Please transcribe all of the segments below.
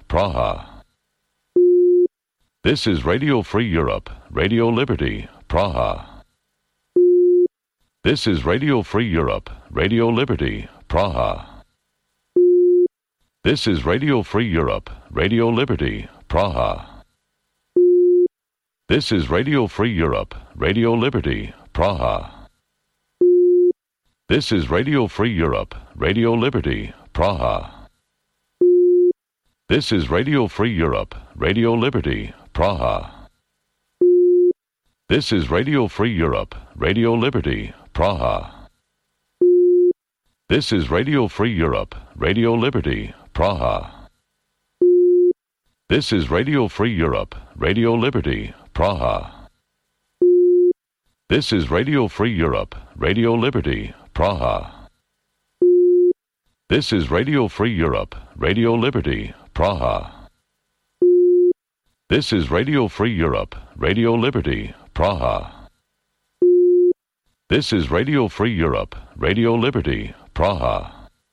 Praha. This is Radio Free Europe, Radio Liberty, Praha. This is Radio Free Europe, Radio Liberty, Praha. This is Radio Free Europe, Radio Liberty, Praha. This is Radio Free Europe, Radio Liberty, Praha. This is Radio Free Europe, Radio Liberty, Praha. This is Radio Free Europe, Radio Liberty, Praha. This is Radio Free Europe, Radio Liberty, Praha. This is Radio Free Europe, Radio Liberty, Praha. This is Radio Free Europe, Radio Liberty, Praha. This is Radio Free Europe, Radio Liberty, Praha. This is Radio Free Europe, Radio Liberty, Praha. This is Radio Free Europe, Radio Liberty, Praha. This is Radio Free Europe, Radio Liberty, Praha.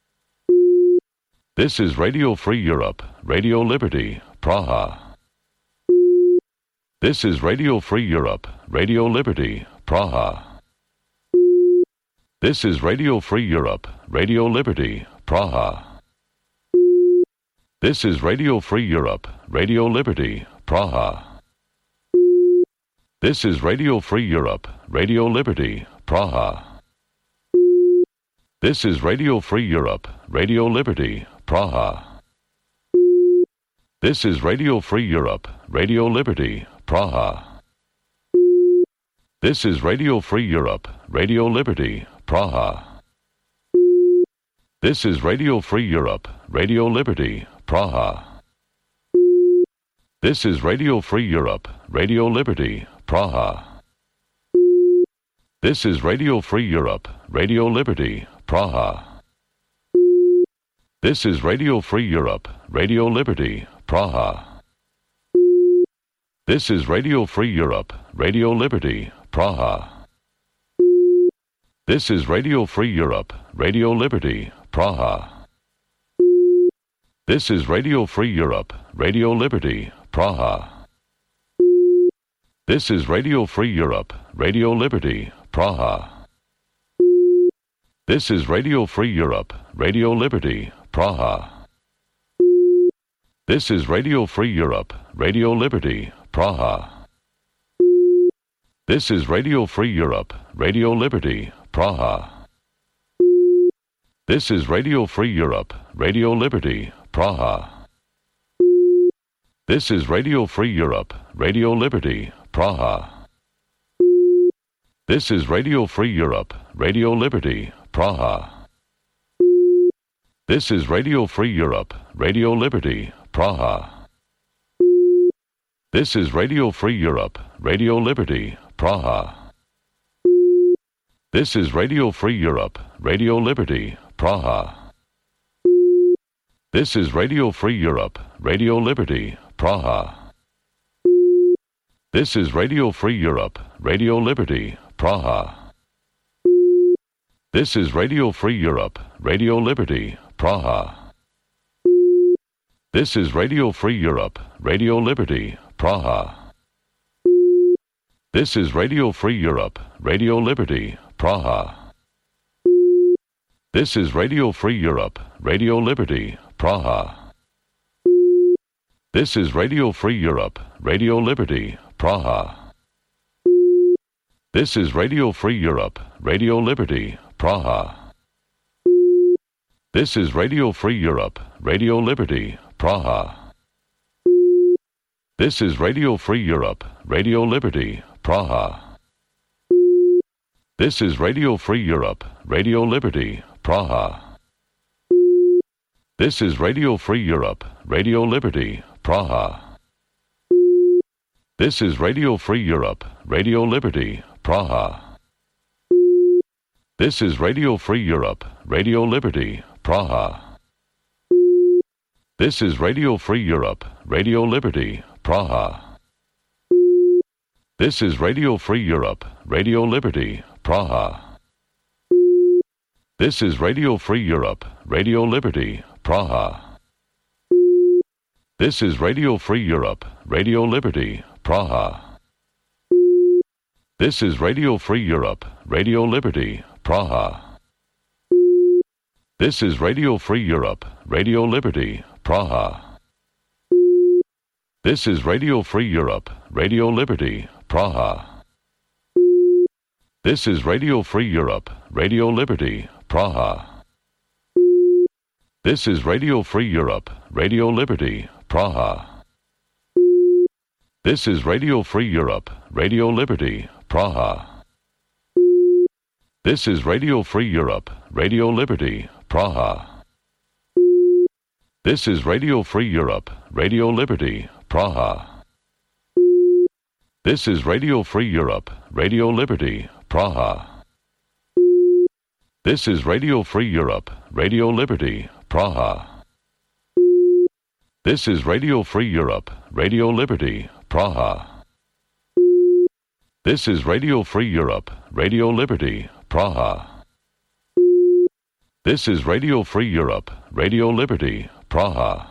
This is Radio Free Europe, Radio Liberty, Praha. This is Radio Free Europe, Radio Liberty, Praha. This is Radio Free Europe, Radio Liberty, Praha. This is Radio Free Europe, Radio Liberty, Praha. This is Radio Free Europe, Radio Liberty, Praha. This is Radio Free Europe, Radio Liberty, Praha. This is Radio Free Europe, Radio Liberty, Praha. This is Radio Free Europe, Radio Liberty, Praha. This is Radio Free Europe, Radio Liberty, Praha. This is Radio Free Europe, Radio Liberty, Praha. This is Radio Free Europe, Radio Liberty, Praha. This is Radio Free Europe, Radio Liberty, Praha. This is Radio Free Europe, Radio Liberty, Praha. This is Radio Free Europe, Radio Liberty, Praha. This is Radio Free Europe, Radio Liberty, Praha. This is Radio Free Europe, Radio Liberty, Praha. This is Radio Free Europe, Radio Liberty, Praha. This is Radio Free Europe, Radio Liberty, Praha. This is Radio Free Europe, Radio Liberty, Praha. This is Radio Free Europe, Radio Liberty, Praha. This is Radio Free Europe, Radio Liberty, Praha. This is Radio Free Europe, Radio Liberty, Praha. This is Radio Free Europe, Radio Liberty, Praha. This is Radio Free Europe, Radio Liberty, Praha. This is Radio Free Europe, Radio Liberty, Praha. This is Radio Free Europe, Radio Liberty, Praha. This is Radio Free Europe, Radio Liberty, Praha. This is Radio Free Europe, Radio Liberty, Praha. This is Radio Free Europe, Radio Liberty, Praha. This is Radio Free Europe, Radio Liberty, Praha. This is Radio Free Europe, Radio Liberty, Praha. This is Radio Free Europe, Radio Liberty, Praha. This is Radio Free Europe, Radio Liberty, Praha. This is Radio Free Europe, Radio Liberty, Praha. This is Radio Free Europe, Radio Liberty, Praha. This is Radio Free Europe, Radio Liberty, Praha. This is Radio Free Europe, Radio Liberty, Praha. This is Radio Free Europe, Radio Liberty, Praha. This is Radio Free Europe, Radio Liberty, Praha. This is Radio Free Europe, Radio Liberty, Praha. This is Radio Free Europe, Radio Liberty, Praha. This is Radio Free Europe, Radio Liberty, Praha. This is Radio Free Europe, Radio Liberty, Praha. This is Radio Free Europe, Radio Liberty, Praha. This is Radio Free Europe, Radio Liberty, Praha. This is Radio Free Europe, Radio Liberty, Praha. This is Radio Free Europe, Radio Liberty, Praha. This is Radio Free Europe, Radio Liberty, Praha. This is Radio Free Europe, Radio Liberty, Praha. This is Radio Free Europe, Radio Liberty, Praha. This is Radio Free Europe, Radio Liberty, Praha. This is Radio Free Europe, Radio Liberty, Praha. This is Radio Free Europe, Radio Liberty, Praha. This is Radio Free Europe, Radio Liberty, Praha. This is Radio Free Europe, Radio Liberty, Praha. This is Radio Free Europe, Radio Liberty, Praha.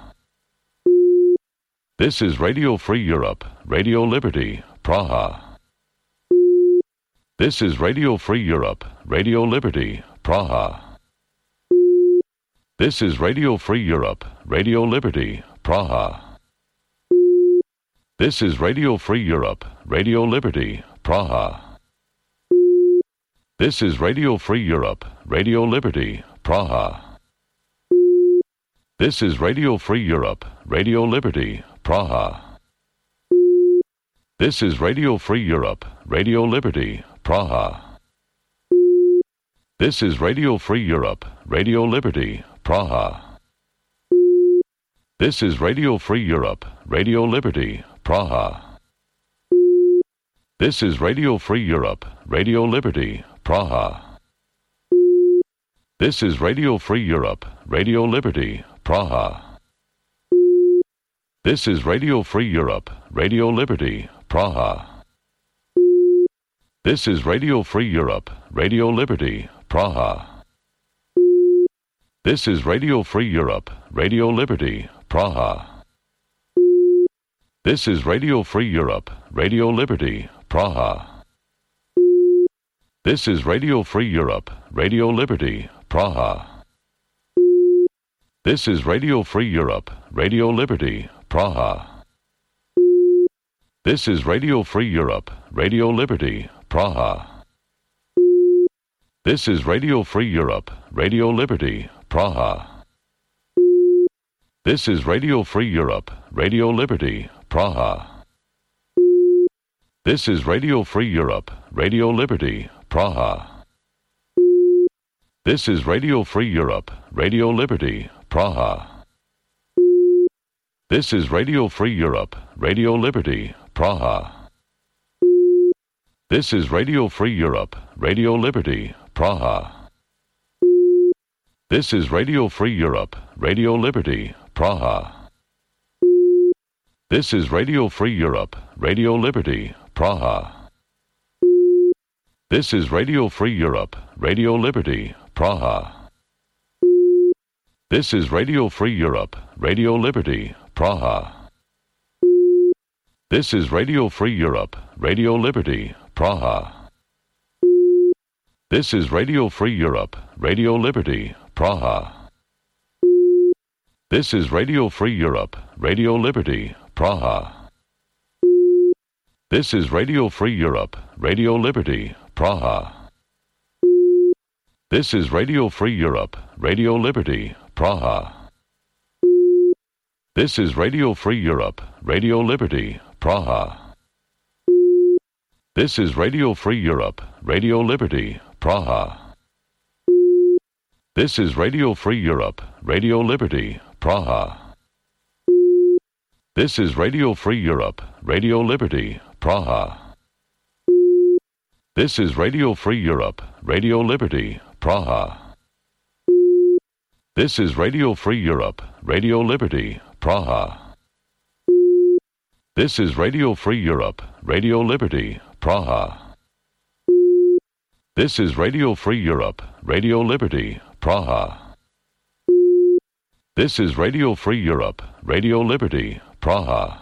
This is Radio Free Europe, Radio Liberty, Praha. This is Radio Free Europe, Radio Liberty, Praha. This is Radio Free Europe, Radio Liberty, Praha. This is Radio Free Europe, Radio Liberty, Praha. This is Radio Free Europe, Radio Liberty, Praha. This is Radio Free Europe, Radio Liberty, Praha. This is Radio Free Europe, Radio Liberty, Praha. This is Radio Free Europe, Radio Liberty, Praha. This is Radio Free Europe, Radio Liberty, Praha. This is Radio Free Europe, Radio Liberty, Praha. This is Radio Free Europe, Radio Liberty, Praha. This is Radio Free Europe, Radio Liberty, Praha. This is Radio Free Europe, Radio Liberty, Praha. This is Radio Free Europe, Radio Liberty, Praha. This is Radio Free Europe, Radio Liberty, Praha. This is Radio Free Europe, Radio Liberty, Praha. This is Radio Free Europe, Radio Liberty, Praha. This is Radio Free Europe, Radio Liberty, Praha. This is Radio Free Europe, Radio Liberty, Praha. This is Radio Free Europe, Radio Liberty, Praha. This is Radio Free Europe, Radio Liberty, Praha. This is Radio Free Europe, Radio Liberty, Praha. This is Radio Free Europe, Radio Liberty, Praha. This is Radio Free Europe, Radio Liberty, Praha. This is Radio Free Europe, Radio Liberty, Praha. This is Radio Free Europe, Radio Liberty, Praha. This is Radio Free Europe, Radio Liberty, Praha. This is Radio Free Europe, Radio Liberty, Praha. This is Radio Free Europe, Radio Liberty, Praha. This is Radio Free Europe, Radio Liberty, Praha. This is Radio Free Europe, Radio Liberty, Praha. This is Radio Free Europe, Radio Liberty, Praha. This is Radio Free Europe, Radio Liberty, Praha. This is Radio Free Europe, Radio Liberty, Praha. This is Radio Free Europe, Radio Liberty, Praha. This is Radio Free Europe, Radio Liberty, Praha. This is Radio Free Europe, Radio Liberty, Praha. This is Radio Free Europe, Radio Liberty, Praha. This is Radio Free Europe, Radio Liberty, Praha. This is Radio Free Europe, Radio Liberty, Praha. This is Radio Free Europe, Radio Liberty, Praha. This is Radio Free Europe, Radio Liberty, Praha.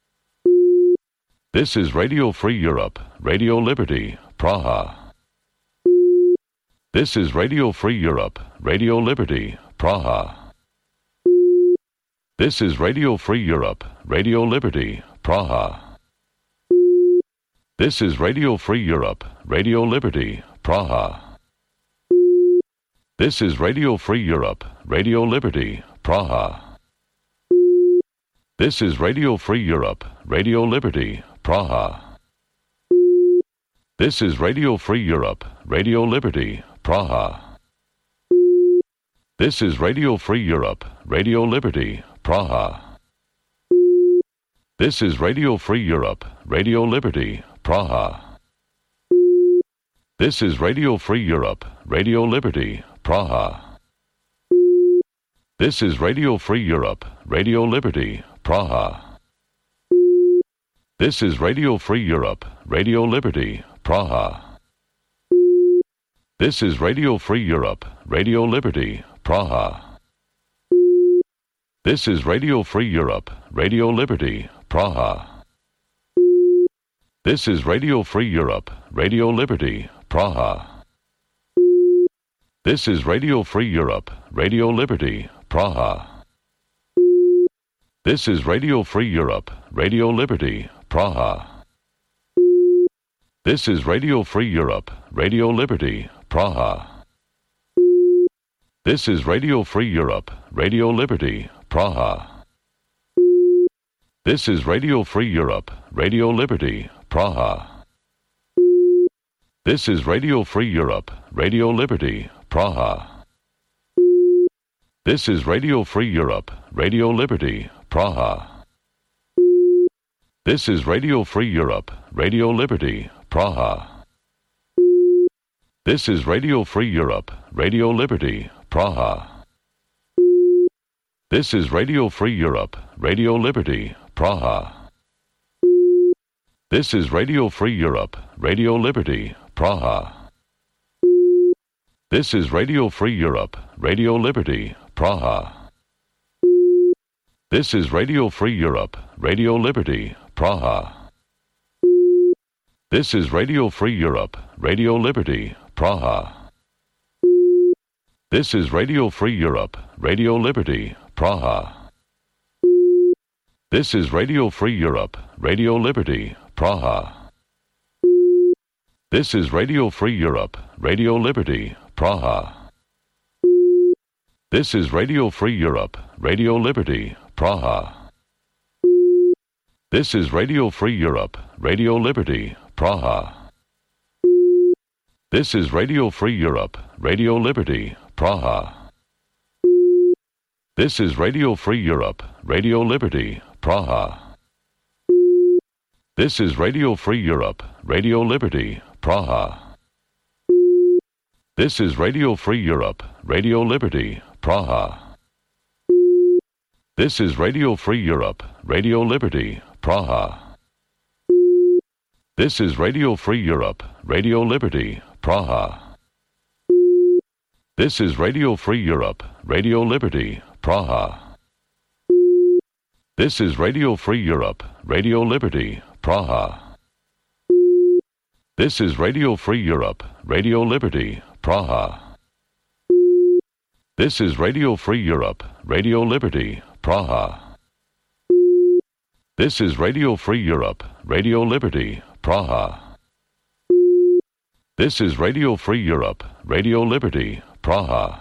This is Radio Free Europe, Radio Liberty, Praha. This is Radio Free Europe, Radio Liberty, Praha. This is Radio Free Europe, Radio Liberty, Praha. This is Radio Free Europe, Radio Liberty, Praha. This is Radio Free Europe, Radio Liberty, Praha. This is Radio Free Europe, Radio Liberty, Praha. This is Radio Free Europe, Radio Liberty, Praha. This is Radio Free Europe, Radio Liberty, Praha. This is Radio Free Europe, Radio Liberty, Praha. This is Radio Free Europe, Radio Liberty, Praha. This is Radio Free Europe, Radio Liberty, Praha. This is Radio Free Europe, Radio Liberty, Praha. This is Radio Free Europe, Radio Liberty, Praha. This is Radio Free Europe, Radio Liberty, Praha. This is Radio Free Europe, Radio Liberty, Praha. This is Radio Free Europe, Radio Liberty, Praha. This is Radio Free Europe, Radio Liberty, Praha. This is Radio Free Europe, Radio Liberty, Praha. This is Radio Free Europe, Radio Liberty, Praha. This is Radio Free Europe, Radio Liberty, Praha. This is Radio Free Europe, Radio Liberty, Praha. This is Radio Free Europe, Radio Liberty, Praha. This is Radio Free Europe, Radio Liberty, Praha. This is Radio Free Europe, Radio Liberty, Praha. This is Radio Free Europe, Radio Liberty, Praha. This is Radio Free Europe, Radio Liberty, Praha. This is Radio Free Europe, Radio Liberty, Praha. This is Radio Free Europe, Radio Liberty, Praha. This is Radio Free Europe, Radio Liberty, Praha. This is Radio Free Europe, Radio Liberty, Praha. This is Radio Free Europe, Radio Liberty, Praha. This is Radio Free Europe, Radio Liberty, Praha. This is Radio Free Europe, Radio Liberty, Praha. This is Radio Free Europe, Radio Liberty, Praha. This is Radio Free Europe, Radio Liberty, Praha. This is Radio Free Europe, Radio Liberty, Praha. This is Radio Free Europe, Radio Liberty, Praha. This is Radio Free Europe, Radio Liberty, Praha. This is Radio Free Europe, Radio Liberty, Praha. This is Radio Free Europe, Radio Liberty, Praha. This is Radio Free Europe, Radio Liberty, Praha. This is Radio Free Europe, Radio Liberty, Praha. This is Radio Free Europe, Radio Liberty, Praha. This is Radio Free Europe, Radio Liberty, Praha. This is Radio Free Europe, Radio Liberty, Praha. This is Radio Free Europe, Radio Liberty, Praha.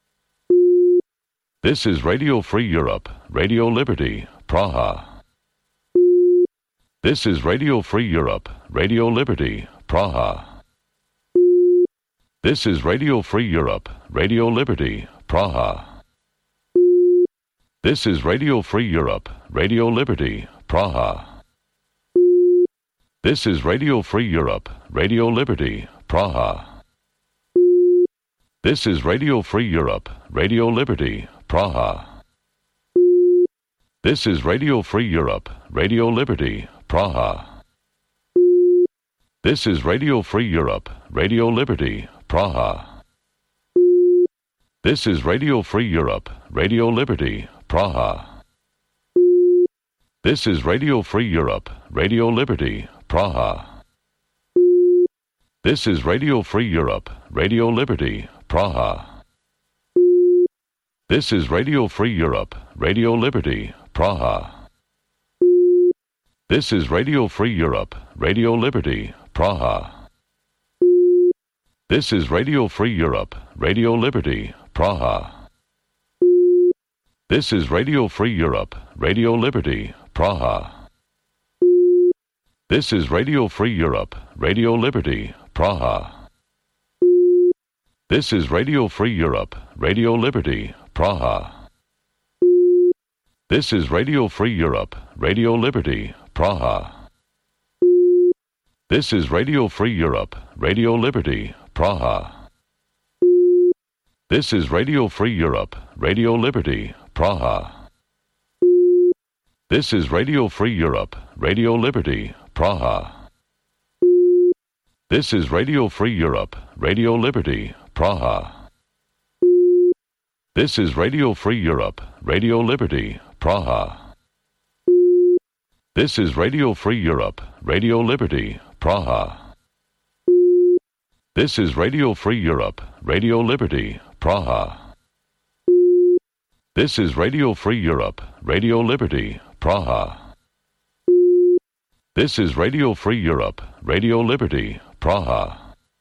This is Radio Free Europe, Radio Liberty, Praha. This is Radio Free Europe, Radio Liberty, Praha. This is Radio Free Europe, Radio Liberty, Praha. This is Radio Free Europe, Radio Liberty, Praha. This is Radio Free Europe, Radio Liberty, Praha. This is Radio Free Europe, Radio Liberty, Praha. This is Radio Free Europe, Radio Liberty, Praha. This is Radio Free Europe, Radio Liberty, Praha. This is Radio Free Europe, Radio Liberty, Praha. This is Radio Free Europe, Radio Liberty, Praha. This is Radio Free Europe, Radio Liberty, Praha. This is Radio Free Europe, Radio Liberty, Praha. This is Radio Free Europe, Radio Liberty, Praha. This is Radio Free Europe, Radio Liberty, Praha. This is Radio Free Europe, Radio Liberty, Praha. This is Radio Free Europe, Radio Liberty, Praha. This is Radio Free Europe, Radio Liberty, Praha. This is Radio Free Europe, Radio Liberty, Praha. This is Radio Free Europe, Radio Liberty, Praha. This is Radio Free Europe, Radio Liberty, Praha. This is Radio Free Europe, Radio Liberty, Praha. This is Radio Free Europe, Radio Liberty, Praha. This is Radio Free Europe, Radio Liberty, Praha. This is Radio Free Europe, Radio Liberty, Praha. This is Radio Free Europe, Radio Liberty, Praha. This is Radio Free Europe, Radio Liberty, Praha. This is Radio Free Europe, Radio Liberty, Praha.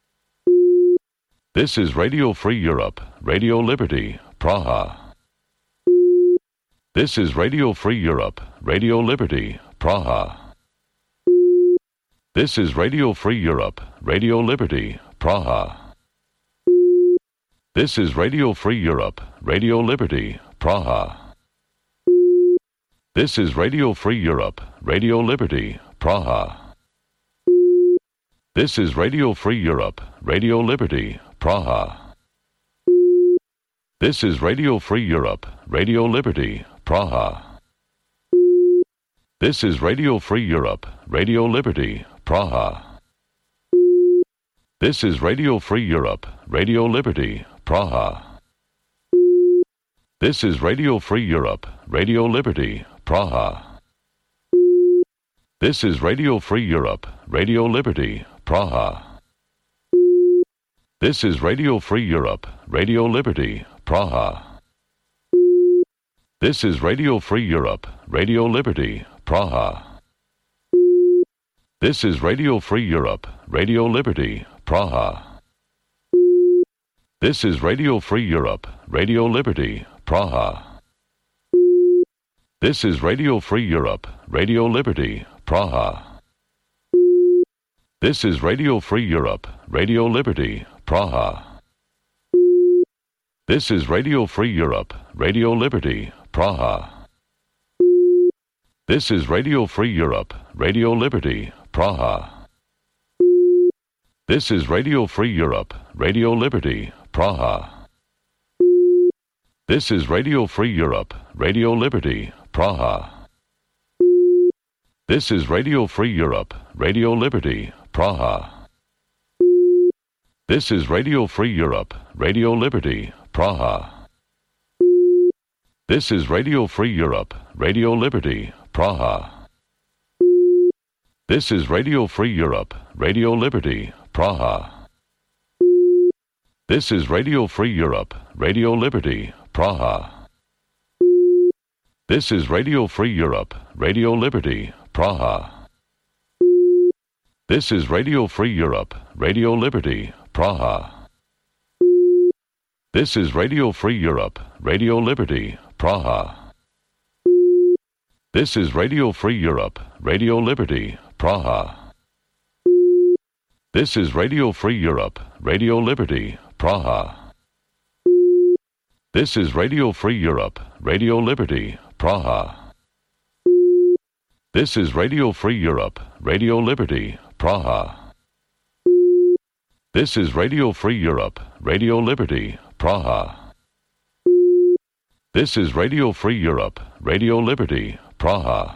This is Radio Free Europe, Radio Liberty, Praha. This is Radio Free Europe, Radio Liberty, Praha. This is Radio Free Europe, Radio Liberty, Praha. This is Radio Free Europe, Radio Liberty, Praha. This is Radio Free Europe, Radio Liberty, Praha. This is Radio Free Europe, Radio Liberty, Praha. This is Radio Free Europe, Radio Liberty, Praha. This is Radio Free Europe, Radio Liberty, Praha. This is Radio Free Europe, Radio Liberty, Praha. This is Radio Free Europe, Radio Liberty, Praha. This is Radio Free Europe, Radio Liberty, Praha. This is Radio Free Europe, Radio Liberty, Praha. This is Radio Free Europe, Radio Liberty, Praha. This is Radio Free Europe, Radio Liberty, Praha. This is Radio Free Europe, Radio Liberty, Praha. This is Radio Free Europe, Radio Liberty, Praha. This is Radio Free Europe, Radio Liberty, Praha. This is Radio Free Europe, Radio Liberty, Praha. This is Radio Free Europe, Radio Liberty, Praha. This is Radio Free Europe, Radio Liberty, Praha. This is Radio Free Europe, Radio Liberty, Praha. This is Radio Free Europe, Radio Liberty, Praha. This is Radio Free Europe, Radio Liberty, Praha. This is Radio Free Europe, Radio Liberty, Praha. This is Radio Free Europe, Radio Liberty, Praha. This is Radio Free Europe, Radio Liberty, Praha. This is Radio Free Europe, Radio Liberty, Praha. This is Radio Free Europe, Radio Liberty, Praha. This is Radio Free Europe, Radio Liberty, Praha. This is Radio Free Europe, Radio Liberty, Praha. This is Radio Free Europe, Radio Liberty, Praha. This is Radio Free Europe, Radio Liberty, Praha. This is Radio Free Europe, Radio Liberty, Praha. This is Radio Free Europe, Radio Liberty, Praha. This is Radio Free Europe, Radio Liberty, Praha.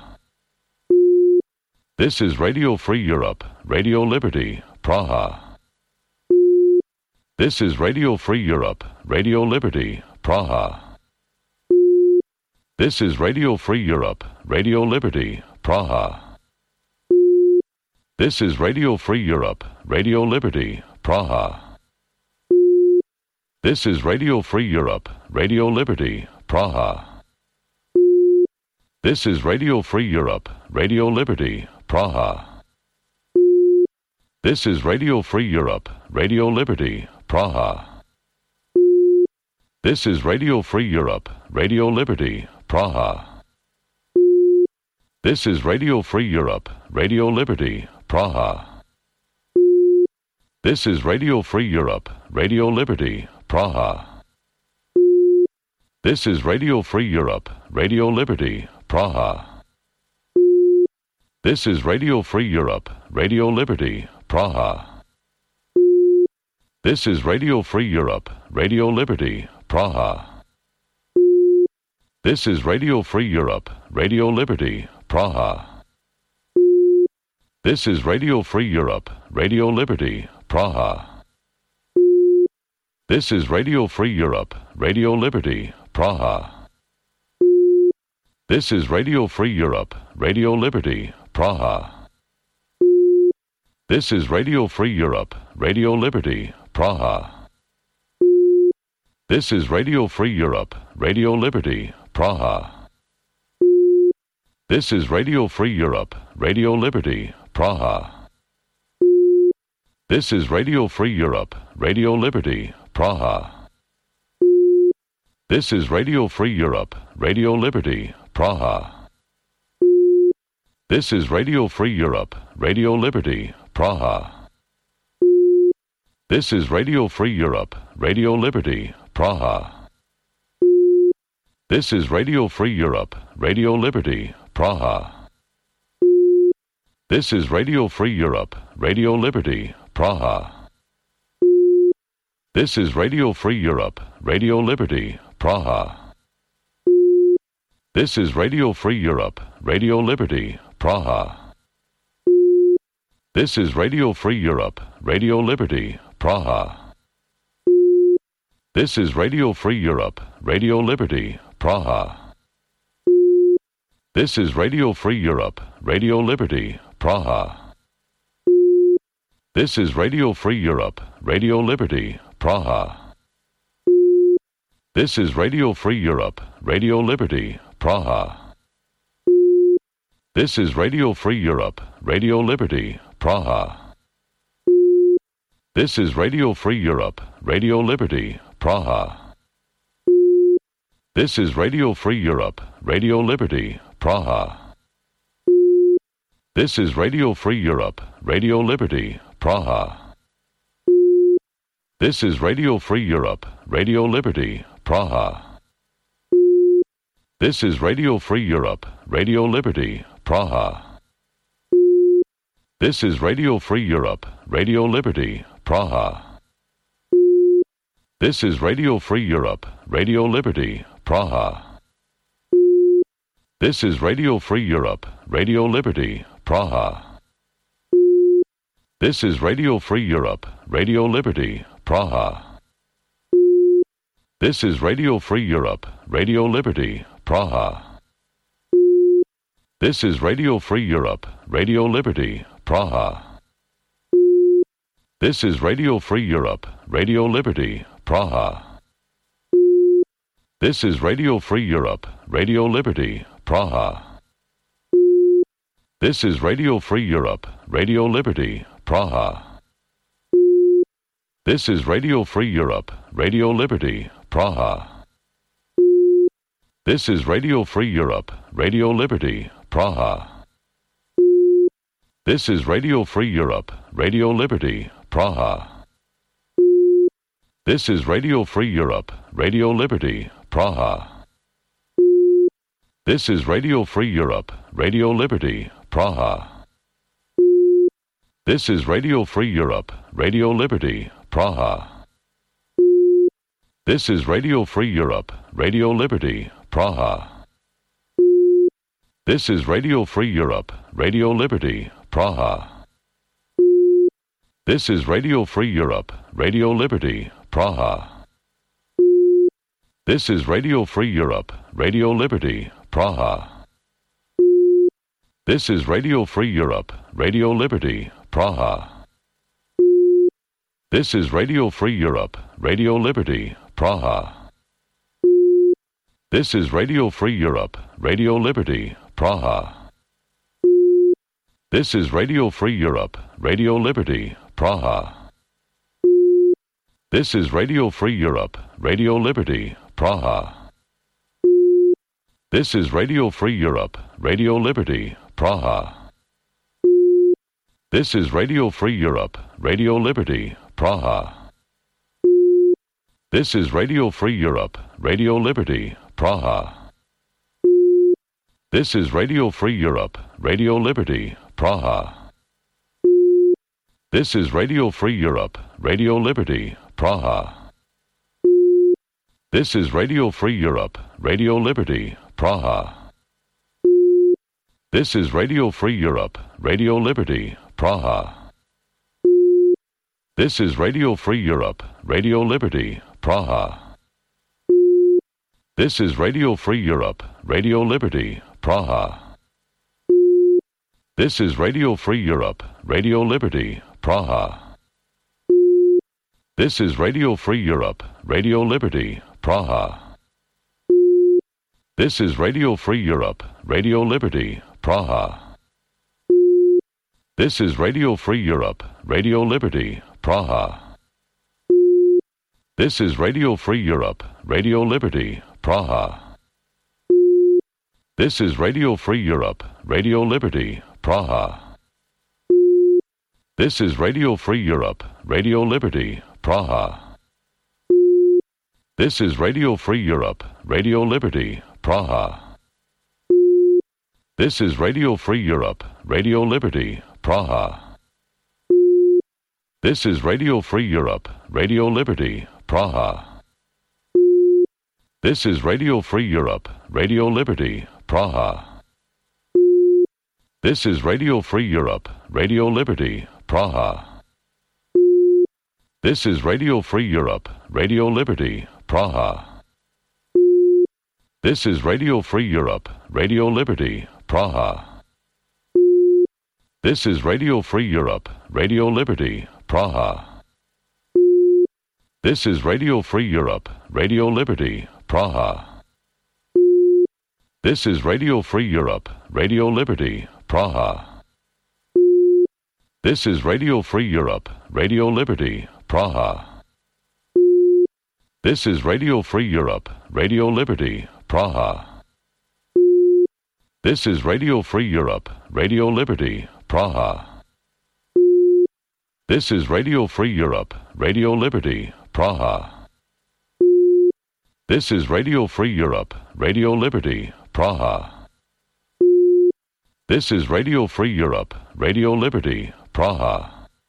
This is Radio Free Europe, Radio Liberty, Praha. This is Radio Free Europe, Radio Liberty, Praha. This is Radio Free Europe, Radio Liberty, Praha. This is Radio Free Europe, Radio Liberty, Praha. This is Radio Free Europe, Radio Liberty, Praha. This is Radio Free Europe, Radio Liberty, Praha. This is Radio Free Europe, Radio Liberty, Praha. This is Radio Free Europe, Radio Liberty, Praha. This is Radio Free Europe, Radio Liberty, Praha. This is Radio Free Europe, Radio Liberty, Praha. This is Radio Free Europe, Radio Liberty, Praha. This is Radio Free Europe, Radio Liberty, Praha. This is Radio Free Europe, Radio Liberty, Praha. This is Radio Free Europe, Radio Liberty, Praha. This is Radio Free Europe, Radio Liberty, Praha. This is Radio Free Europe, Radio Liberty, Praha. This is Radio Free Europe, Radio Liberty, Praha. This is Radio Free Europe, Radio Liberty, Praha. This is Radio Free Europe, Radio Liberty, Praha. This is Radio Free Europe, Radio Liberty, Praha. This is Radio Free Europe, Radio Liberty, Praha. This is Radio Free Europe, Radio Liberty, Praha. This is Radio Free Europe, Radio Liberty, Praha. This is Radio Free Europe, Radio Liberty, Praha. This is Radio Free Europe, Radio Liberty, Praha. This is Radio Free Europe, Radio Liberty, Praha. This is Radio Free Europe, Radio Liberty, Praha. This is Radio Free Europe, Radio Liberty, Praha. This is Radio Free Europe, Radio Liberty, Praha. This is Radio Free Europe, Radio Liberty, Praha. This is Radio Free Europe, Radio Liberty, Praha. This is Radio Free Europe, Radio Liberty, Praha. This is Radio Free Europe, Radio Liberty, Praha. This is Radio Free Europe, Radio Liberty, Praha. This is Radio Free Europe, Radio Liberty, Praha. This is Radio Free Europe, Radio Liberty, Praha. This is Radio Free Europe, Radio Liberty, Praha. This is Radio Free Europe, Radio Liberty, Praha. This is Radio Free Europe, Radio Liberty, Praha. This is Radio Free Europe, Radio Liberty, Praha. This is Radio Free Europe, Radio Liberty, Praha. This is Radio Free Europe, Radio Liberty, Praha. This is Radio Free Europe, Radio Liberty, Praha. This is Radio Free Europe, Radio Liberty, Praha. This is Radio Free Europe, Radio Liberty, Praha. This is Radio Free Europe, Radio Liberty, Praha. This is Radio Free Europe, Radio Liberty, Praha. This is Radio Free Europe, Radio Liberty, Praha. This is Radio Free Europe, Radio Liberty, Praha. This is Radio Free Europe, Radio Liberty, Praha. This is Radio Free Europe, Radio Liberty, Praha. This is Radio Free Europe, Radio Liberty, Praha. This is Radio Free Europe, Radio Liberty, Praha. This is Radio Free Europe, Radio Liberty, Praha. This is Radio Free Europe, Radio Liberty, Praha. This is Radio Free Europe, Radio Liberty, Praha. This is Radio Free Europe, Radio Liberty, Praha. This is Radio Free Europe, Radio Liberty, Praha. This is Radio Free Europe, Radio Liberty, Praha. This is Radio Free Europe, Radio Liberty, Praha. This is Radio Free Europe, Radio Liberty, Praha. This is Radio Free Europe, Radio Liberty, Praha. This is Radio Free Europe, Radio Liberty, Praha. This is Radio Free Europe, Radio Liberty, Praha. This is Radio Free Europe, Radio Liberty, Praha. This is Radio Free Europe, Radio Liberty, Praha. This is Radio Free Europe, Radio Liberty, Praha. This is Radio Free Europe, Radio Liberty, Praha. This is Radio Free Europe, Radio Liberty, Praha. This is Radio Free Europe, Radio Liberty, Praha. This is Radio Free Europe, Radio Liberty, Praha. This is Radio Free Europe, Radio Liberty, Praha. This is Radio Free Europe, Radio Liberty, Praha. This is Radio Free Europe, Radio Liberty, Praha. This is Radio Free Europe, Radio Liberty, Praha. This is Radio Free Europe, Radio Liberty, Praha. This is Radio Free Europe, Radio Liberty, Praha. This is Radio Free Europe, Radio Liberty, Praha. This is Radio Free Europe, Radio Liberty, Praha. This is Radio Free Europe, Radio Liberty, Praha. This is Radio Free Europe, Radio Liberty, Praha. This is Radio Free Europe, Radio Liberty, Praha. This is Radio Free Europe, Radio Liberty, Praha. This is Radio Free Europe, Radio Liberty, Praha. This is Radio Free Europe, Radio Liberty, Praha. This is Radio Free Europe, Radio Liberty, Praha. This is Radio Free Europe, Radio Liberty, Praha. This is Radio Free Europe, Radio Liberty, Praha. This is Radio Free Europe, Radio Liberty, Praha. This is Radio Free Europe, Radio Liberty, Praha. This is Radio Free Europe, Radio Liberty, Praha. This is Radio Free Europe, Radio Liberty, Praha. This is Radio Free Europe, Radio Liberty, Praha. This is Radio Free Europe, Radio Liberty, Praha. This is Radio Free Europe, Radio Liberty, Praha.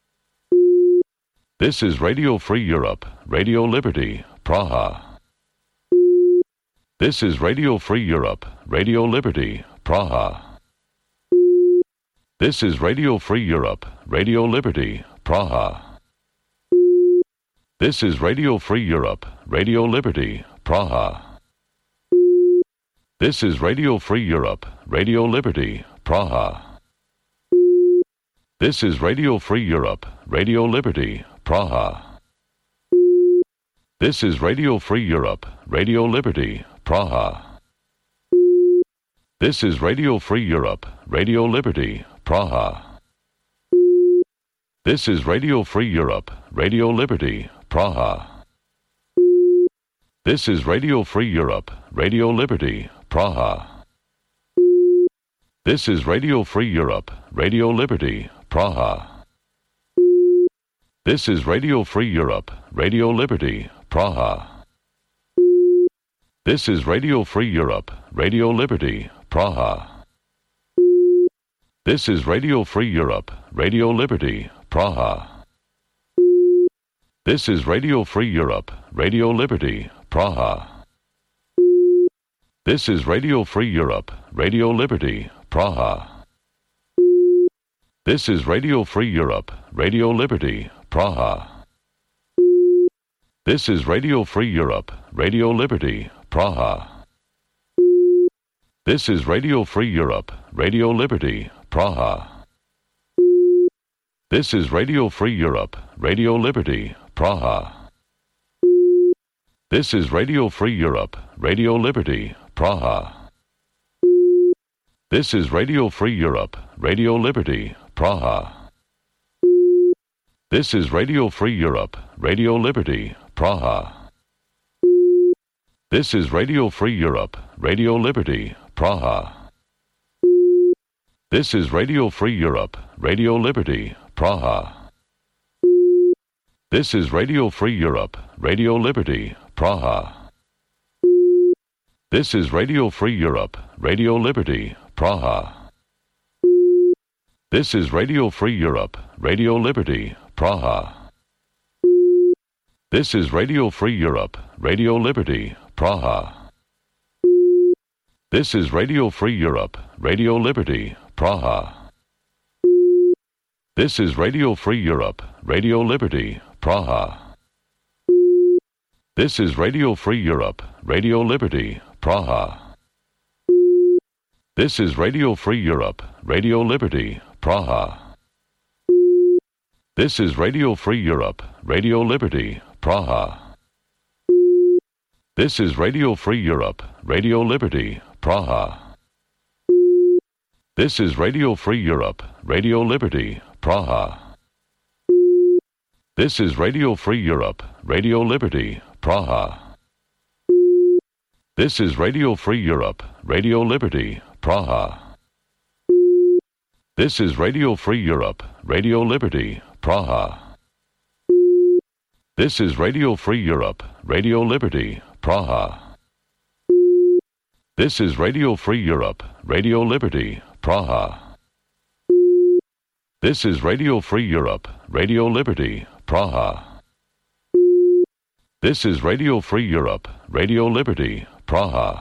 This is Radio Free Europe, Radio Liberty, Praha. This is Radio Free Europe, Radio Liberty, Praha. This is Radio Free Europe, Radio Liberty, Praha. This is Radio Free Europe, Radio Liberty, Praha. This is Radio Free Europe, Radio Liberty, Praha. This is Radio Free Europe, Radio Liberty, Praha. This is Radio Free Europe, Radio Liberty, Praha. This is Radio Free Europe, Radio Liberty, Praha. This is Radio Free Europe, Radio Liberty, Praha. This is Radio Free Europe, Radio Liberty, Praha. This is Radio Free Europe, Radio Liberty, Praha. This is Radio Free Europe, Radio Liberty, Praha. This is Radio Free Europe, Radio Liberty, Praha. This is Radio Free Europe, Radio Liberty, Praha. This is Radio Free Europe, Radio Liberty, Praha. This is Radio Free Europe, Radio Liberty, Praha. This is Radio Free Europe, Radio Liberty, Praha. This is Radio Free Europe, Radio Liberty, Praha. This is Radio Free Europe, Radio Liberty, Praha. This is Radio Free Europe, Radio Liberty, Praha. This is Radio Free Europe, Radio Liberty, Praha. This is Radio Free Europe, Radio Liberty, Praha. This is Radio Free Europe, Radio Liberty, Praha. This is Radio Free Europe, Radio Liberty, Praha. This is Radio Free Europe, Radio Liberty, Praha. This is Radio Free Europe, Radio Liberty, Praha. This is Radio Free Europe, Radio Liberty, Praha. This is Radio Free Europe, Radio Liberty, Praha. This is Radio Free Europe, Radio Liberty, Praha. This is Radio Free Europe, Radio Liberty, Praha. This is Radio Free Europe, Radio Liberty, Praha. This is Radio Free Europe, Radio Liberty, Praha. This is Radio Free Europe, Radio Liberty, Praha. This is Radio Free Europe, Radio Liberty, Praha. This is Radio Free Europe, Radio Liberty, Praha. This is Radio Free Europe, Radio Liberty, Praha. This is Radio Free Europe, Radio Liberty, Praha. This is Radio Free Europe, Radio Liberty, Praha. This is Radio Free Europe, Radio Liberty, Praha. This is Radio Free Europe, Radio Liberty, Praha. This is Radio Free Europe, Radio Liberty, Praha. This is Radio Free Europe, Radio Liberty, Praha. This is Radio Free Europe, Radio Liberty, Praha.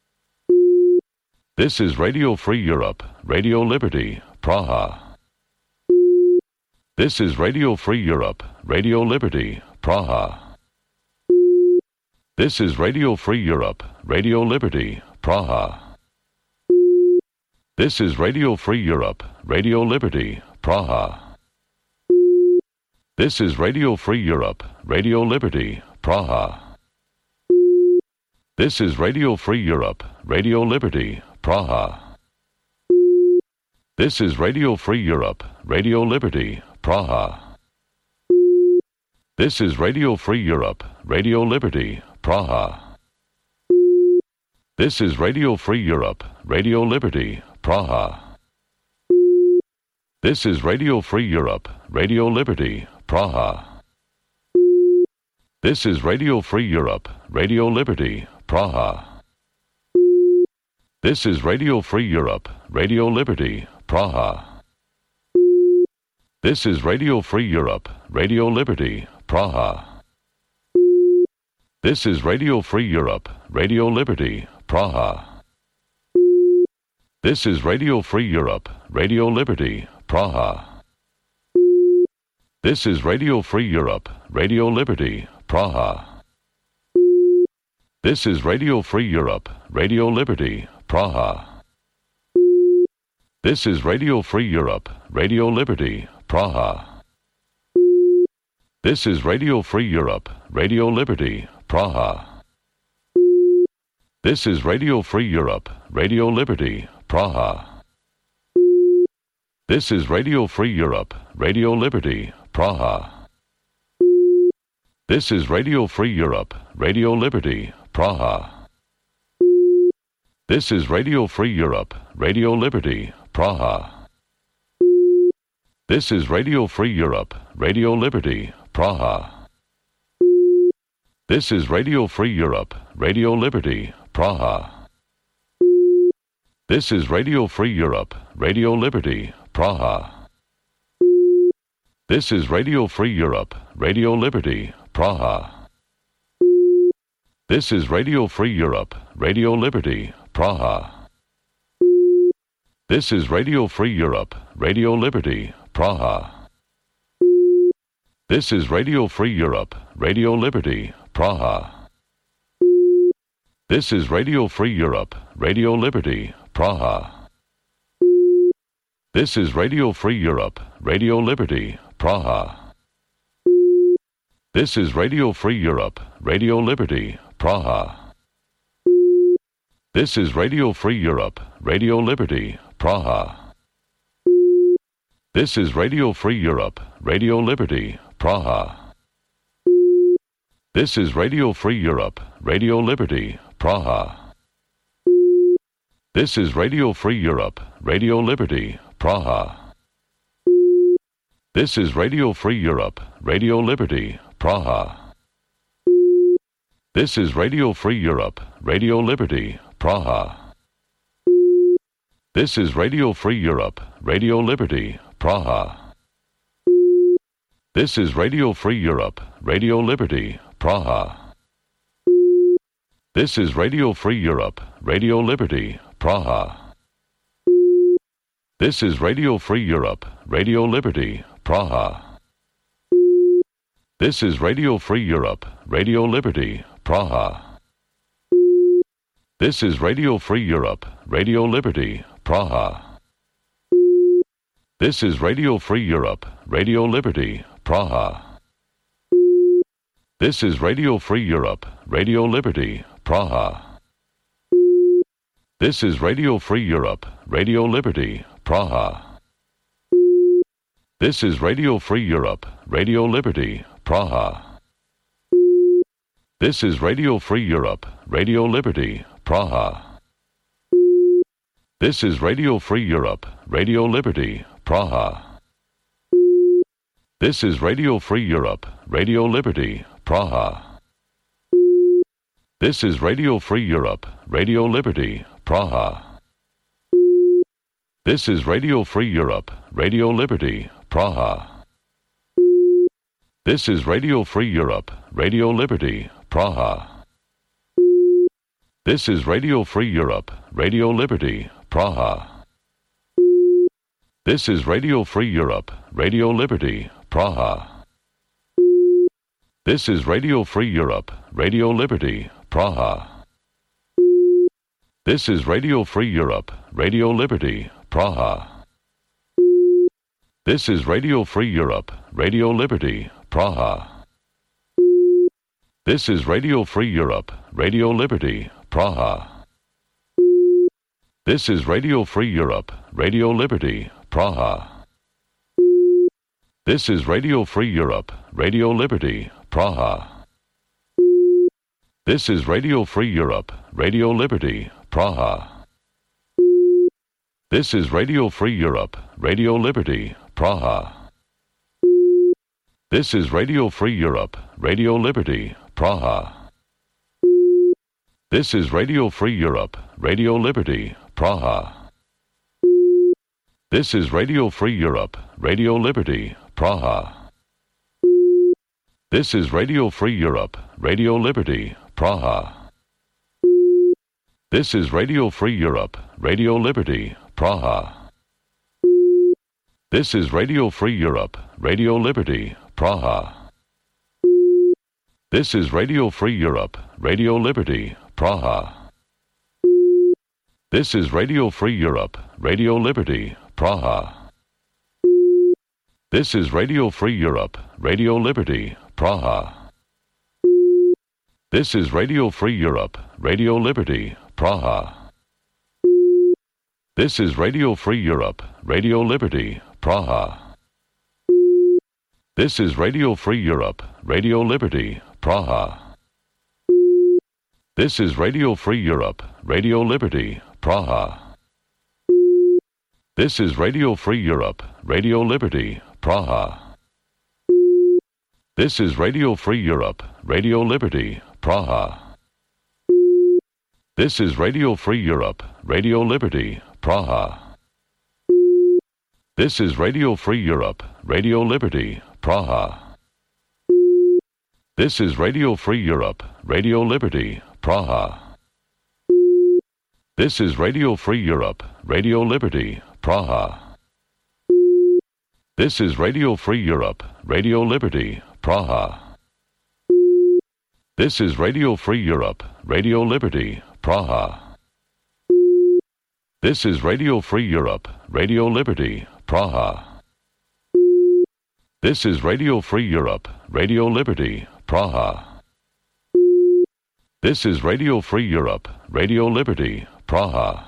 This is Radio Free Europe, Radio Liberty, Praha. This is Radio Free Europe, Radio Liberty, Praha. This is Radio Free Europe, Radio Liberty, Praha. This is Radio Free Europe, Radio Liberty, Praha. This is Radio Free Europe, Radio Liberty, Praha. This is Radio Free Europe, Radio Liberty, Praha. This is Radio Free Europe, Radio Liberty, Praha. This is Radio Free Europe, Radio Liberty, Praha. This is Radio Free Europe, Radio Liberty, Praha. This is Radio Free Europe, Radio Liberty, Praha. This is Radio Free Europe, Radio Liberty, Praha. This is Radio Free Europe, Radio Liberty, Praha. This is Radio Free Europe, Radio Liberty, Praha. This is Radio Free Europe, Radio Liberty, Praha. This is Radio Free Europe, Radio Liberty, Praha. This is Radio Free Europe, Radio Liberty, Praha. This is Radio Free Europe, Radio Liberty, Praha. This is Radio Free Europe, Radio Liberty, Praha. This is Radio Free Europe, Radio Liberty, Praha. This is Radio Free Europe, Radio Liberty, Praha. This is Radio Free Europe, Radio Liberty, Praha. This is Radio Free Europe, Radio Liberty, Praha. This is Radio Free Europe, Radio Liberty, Praha. This is Radio Free Europe, Radio Liberty, Praha. This is Radio Free Europe, Radio Liberty, Praha. This is Radio Free Europe, Radio Liberty, Praha. This is Radio Free Europe, Radio Liberty, Praha. This is Radio Free Europe, Radio Liberty, Praha. This is Radio Free Europe, Radio Liberty, Praha. This is Radio Free Europe, Radio Liberty, Praha. This is Radio Free Europe, Radio Liberty, Praha. This is Radio Free Europe, Radio Liberty, Praha. This is Radio Free Europe, Radio Liberty, Praha. This is Radio Free Europe, Radio Liberty, Praha. This is Radio Free Europe, Radio Liberty, Praha. This is Radio Free Europe, Radio Liberty, Praha. This is Radio Free Europe, Radio Liberty, Praha. This is Radio Free Europe, Radio Liberty, Praha. This is Radio Free Europe, Radio Liberty, Praha. This is Radio Free Europe, Radio Liberty, Praha. This is Radio Free Europe, Radio Liberty, Praha. This is Radio Free Europe, Radio Liberty, Praha. This is Radio Free Europe, Radio Liberty, Praha. This is Radio Free Europe, Radio Liberty, Praha. This is Radio Free Europe, Radio Liberty, Praha. This is Radio Free Europe, Radio Liberty, Praha. This is Radio Free Europe, Radio Liberty, Praha. This is Radio Free Europe, Radio Liberty, Praha. This is Radio Free Europe, Radio Liberty, Praha. This is Radio Free Europe, Radio Liberty, Praha. This is Radio Free Europe, Radio Liberty, Praha. This is Radio Free Europe, Radio Liberty, Praha. This is Radio Free Europe, Radio Liberty, Praha. This is Radio Free Europe, Radio Liberty, Praha. This is Radio Free Europe, Radio Liberty, Praha. This is Radio Free Europe, Radio Liberty, Praha. This is Radio Free Europe, Radio Liberty, Praha. This is Radio Free Europe, Radio Liberty, Praha. This is Radio Free Europe, Radio Liberty, Praha. This is Radio Free Europe, Radio Liberty, Praha. This is Radio Free Europe, Radio Liberty, Praha. This is Radio Free Europe, Radio Liberty, Praha. This is Radio Free Europe, Radio Liberty, Praha. This is Radio Free Europe, Radio Liberty, Praha. This is Radio Free Europe, Radio Liberty, Praha. This is Radio Free Europe, Radio Liberty, Praha. This is Radio Free Europe, Radio Liberty, Praha. This is Radio Free Europe, Radio Liberty, Praha. This is Radio Free Europe, Radio Liberty, Praha. This is Radio Free Europe, Radio Liberty, Praha. This is Radio Free Europe, Radio Liberty, Praha. This is Radio Free Europe, Radio Liberty, Praha. This is Radio Free Europe, Radio Liberty, Praha. This is Radio Free Europe, Radio Liberty, Praha. This is Radio Free Europe, Radio Liberty, Praha. This is Radio Free Europe, Radio Liberty, Praha. This is Radio Free Europe, Radio Liberty, Praha. This is Radio Free Europe, Radio Liberty, Praha. This is Radio Free Europe, Radio Liberty, Praha. This is Radio Free Europe, Radio Liberty, Praha. This is Radio Free Europe, Radio Liberty, Praha. This is Radio Free Europe, Radio Liberty, Praha. This is Radio Free Europe, Radio Liberty, Praha. This is Radio Free Europe, Radio Liberty, Praha. This is Radio Free Europe, Radio Liberty, Praha. This is Radio Free Europe, Radio Liberty, Praha. This is Radio Free Europe, Radio Liberty, Praha. This is Radio Free Europe, Radio Liberty, Praha. This is Radio Free Europe, Radio Liberty, Praha.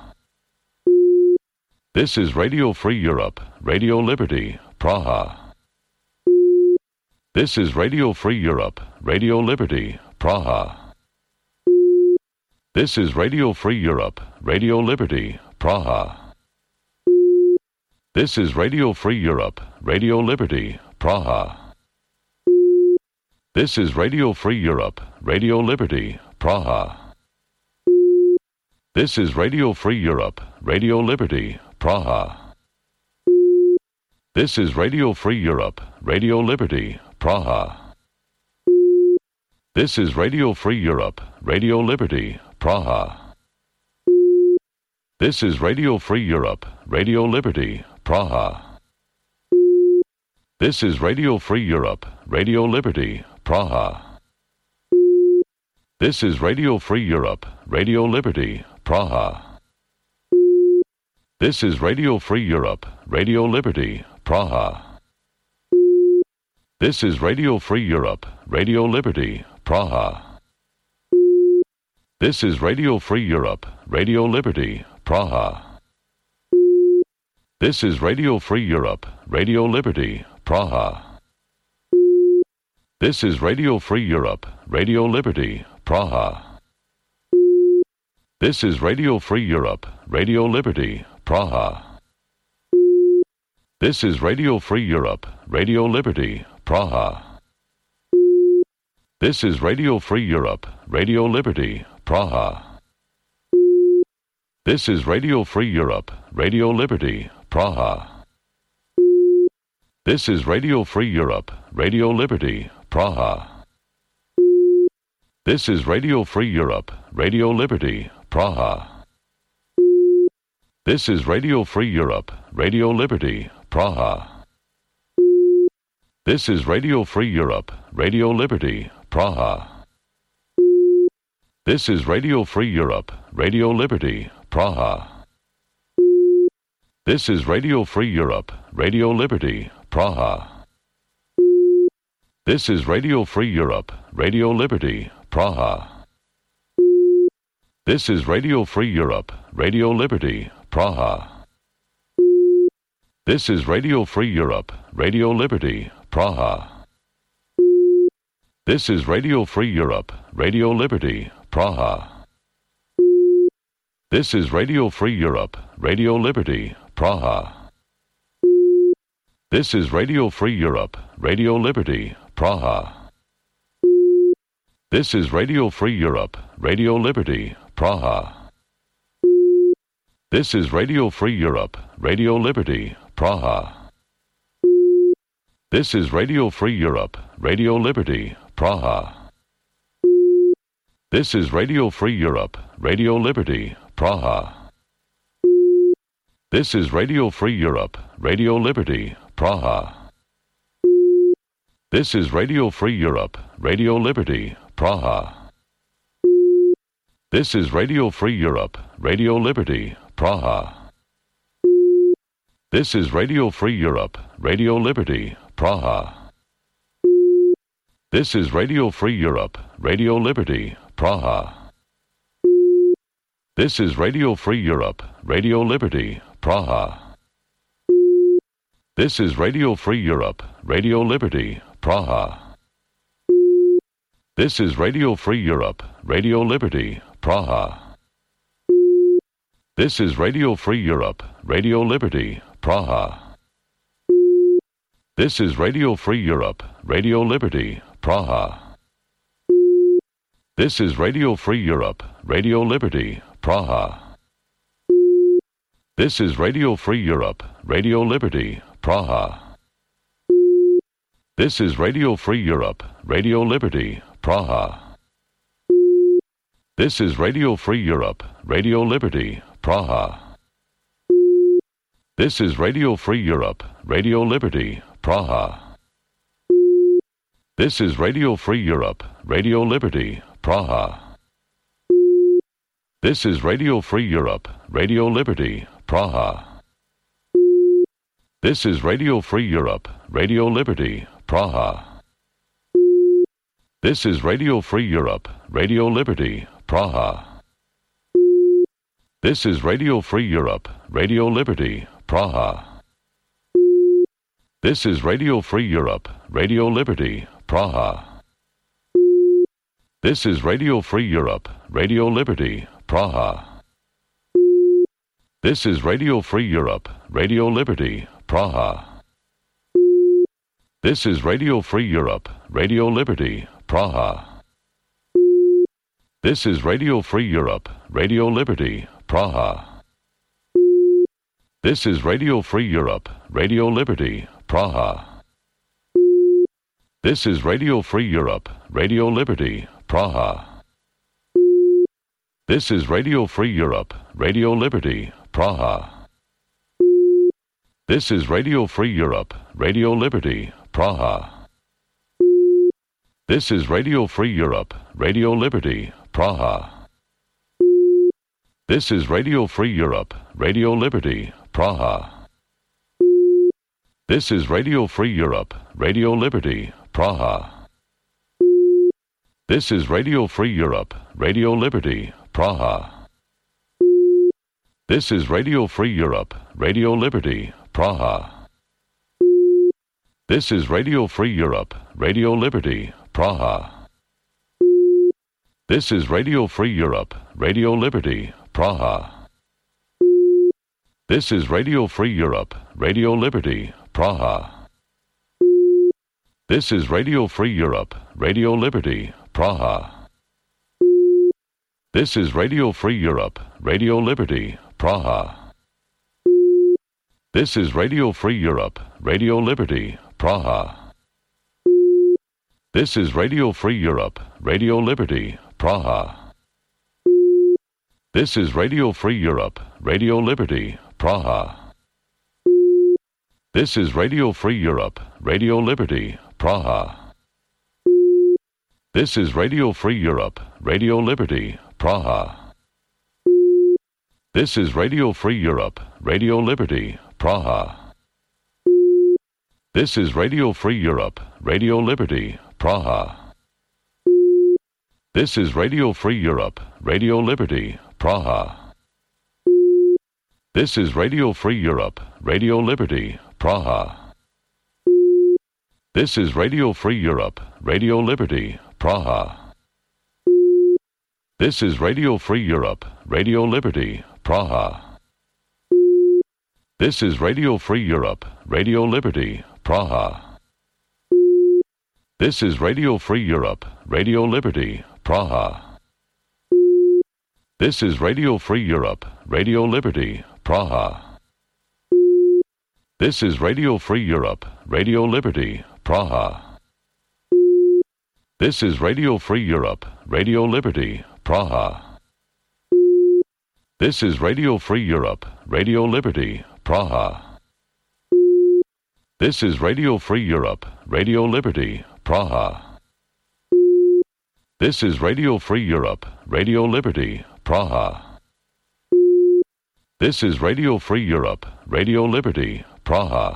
This is Radio Free Europe, Radio Liberty, Praha. This is Radio Free Europe, Radio Liberty, Praha. This is Radio Free Europe, Radio Liberty, Praha. This is Radio Free Europe, Radio Liberty, Praha. This is Radio Free Europe, Radio Liberty, Praha. This is Radio Free Europe, Radio Liberty, Praha. This is Radio Free Europe, Radio Liberty, Praha. This is Radio Free Europe, Radio Liberty, Praha. This is Radio Free Europe, Radio Liberty, Praha. This is Radio Free Europe, Radio Liberty, Praha. This is Radio Free Europe, Radio Liberty, Praha. This is Radio Free Europe, Radio Liberty, Praha. This is Radio Free Europe, Radio Liberty, Praha. This is Radio Free Europe, Radio Liberty, Praha. This is Radio Free Europe, Radio Liberty, Praha. This is Radio Free Europe, Radio Liberty, Praha. This is Radio Free Europe, Radio Liberty, Praha. This is Radio Free Europe, Radio Liberty, Praha. This is Radio Free Europe, Radio Liberty, Praha. This is Radio Free Europe, Radio Liberty, Praha. This is Radio Free Europe, Radio Liberty, Praha. This is Radio Free Europe, Radio Liberty, Praha. This is Radio Free Europe, Radio Liberty, Praha. This is Radio Free Europe, Radio Liberty, Praha. This is Radio Free Europe, Radio Liberty, Praha. This is Radio Free Europe, Radio Liberty, Praha. This is Radio Free Europe, Radio Liberty, Praha. This is Radio Free Europe, Radio Liberty, Praha. This is Radio Free Europe, Radio Liberty, Praha. This is Radio Free Europe, Radio Liberty, Praha. This is Radio Free Europe, Radio Liberty, Praha. This is Radio Free Europe, Radio Liberty, Praha. This is Radio Free Europe, Radio Liberty, Praha. This is Radio Free Europe, Radio Liberty, Praha. This is Radio Free Europe, Radio Liberty, Praha. This is Radio Free Europe, Radio Liberty, Praha. This is Radio Free Europe, Radio Liberty, Praha. This is Radio Free Europe, Radio Liberty, Praha. This is Radio Free Europe, Radio Liberty, Praha. This is Radio Free Europe, Radio Liberty, Praha. This is Radio Free Europe, Radio Liberty, Praha. This is Radio Free Europe, Radio Liberty, Praha. This is Radio Free Europe, Radio Liberty, Praha. This is Radio Free Europe, Radio Liberty, Praha. This is Radio Free Europe, Radio Liberty, Praha. This is Radio Free Europe, Radio Liberty, Praha. This is Radio Free Europe, Radio Liberty, Praha. This is Radio Free Europe, Radio Liberty, Praha. This is Radio Free Europe, Radio Liberty, Praha. This is Radio Free Europe, Radio Liberty, Praha. This is Radio Free Europe, Radio Liberty, Praha. This is Radio Free Europe, Radio Liberty, Praha. This is Radio Free Europe, Radio Liberty, Praha. This is Radio Free Europe, Radio Liberty, Praha. This is Radio Free Europe, Radio Liberty, Praha. This is Radio Free Europe, Radio Liberty, Praha. This is Radio Free Europe, Radio Liberty, Praha. This is Radio Free Europe, Radio Liberty, Praha. This is Radio Free Europe, Radio Liberty, Praha. This is Radio Free Europe, Radio Liberty, Praha. This is Radio Free Europe, Radio Liberty, Praha. This is Radio Free Europe, Radio Liberty, Praha. This is Radio Free Europe, Radio Liberty, Praha. This is Radio Free Europe, Radio Liberty, Praha. This is Radio Free Europe, Radio Liberty, Praha. This is Radio Free Europe, Radio Liberty, Praha. This is Radio Free Europe, Radio Liberty, Praha. This is Radio Free Europe, Radio Liberty, Praha. This is Radio Free Europe, Radio Liberty, Praha. This is Radio Free Europe, Radio Liberty, Praha. This is Radio Free Europe, Radio Liberty, Praha. This is Radio Free Europe, Radio Liberty, Praha. This is Radio Free Europe, Radio Liberty, Praha. This is Radio Free Europe, Radio Liberty, Praha. This is Radio Free Europe, Radio Liberty, Praha. This is Radio Free Europe, Radio Liberty, Praha. This is Radio Free Europe, Radio Liberty, Praha. This is Radio Free Europe, Radio Liberty, Praha. This is Radio Free Europe, Radio Liberty, Praha. This is Radio Free Europe, Radio Liberty, Praha. This is Radio Free Europe, Radio Liberty, Praha. This is Radio Free Europe, Radio Liberty, Praha. This is Radio Free Europe, Radio Liberty, Praha. This is Radio Free Europe, Radio Liberty, Praha. This is Radio Free Europe, Radio Liberty, Praha. This is Radio Free Europe, Radio Liberty, Praha. This is Radio Free Europe, Radio Liberty, Praha. This is Radio Free Europe, Radio Liberty, Praha. This is Radio Free Europe, Radio Liberty, Praha. This is Radio Free Europe, Radio Liberty, Praha. This is Radio Free Europe, Radio Liberty, Praha. This is Radio Free Europe, Radio Liberty, Praha. This is Radio Free Europe, Radio Liberty, Praha. This is Radio Free Europe, Radio Liberty, Praha. This is Radio Free Europe, Radio Liberty, Praha.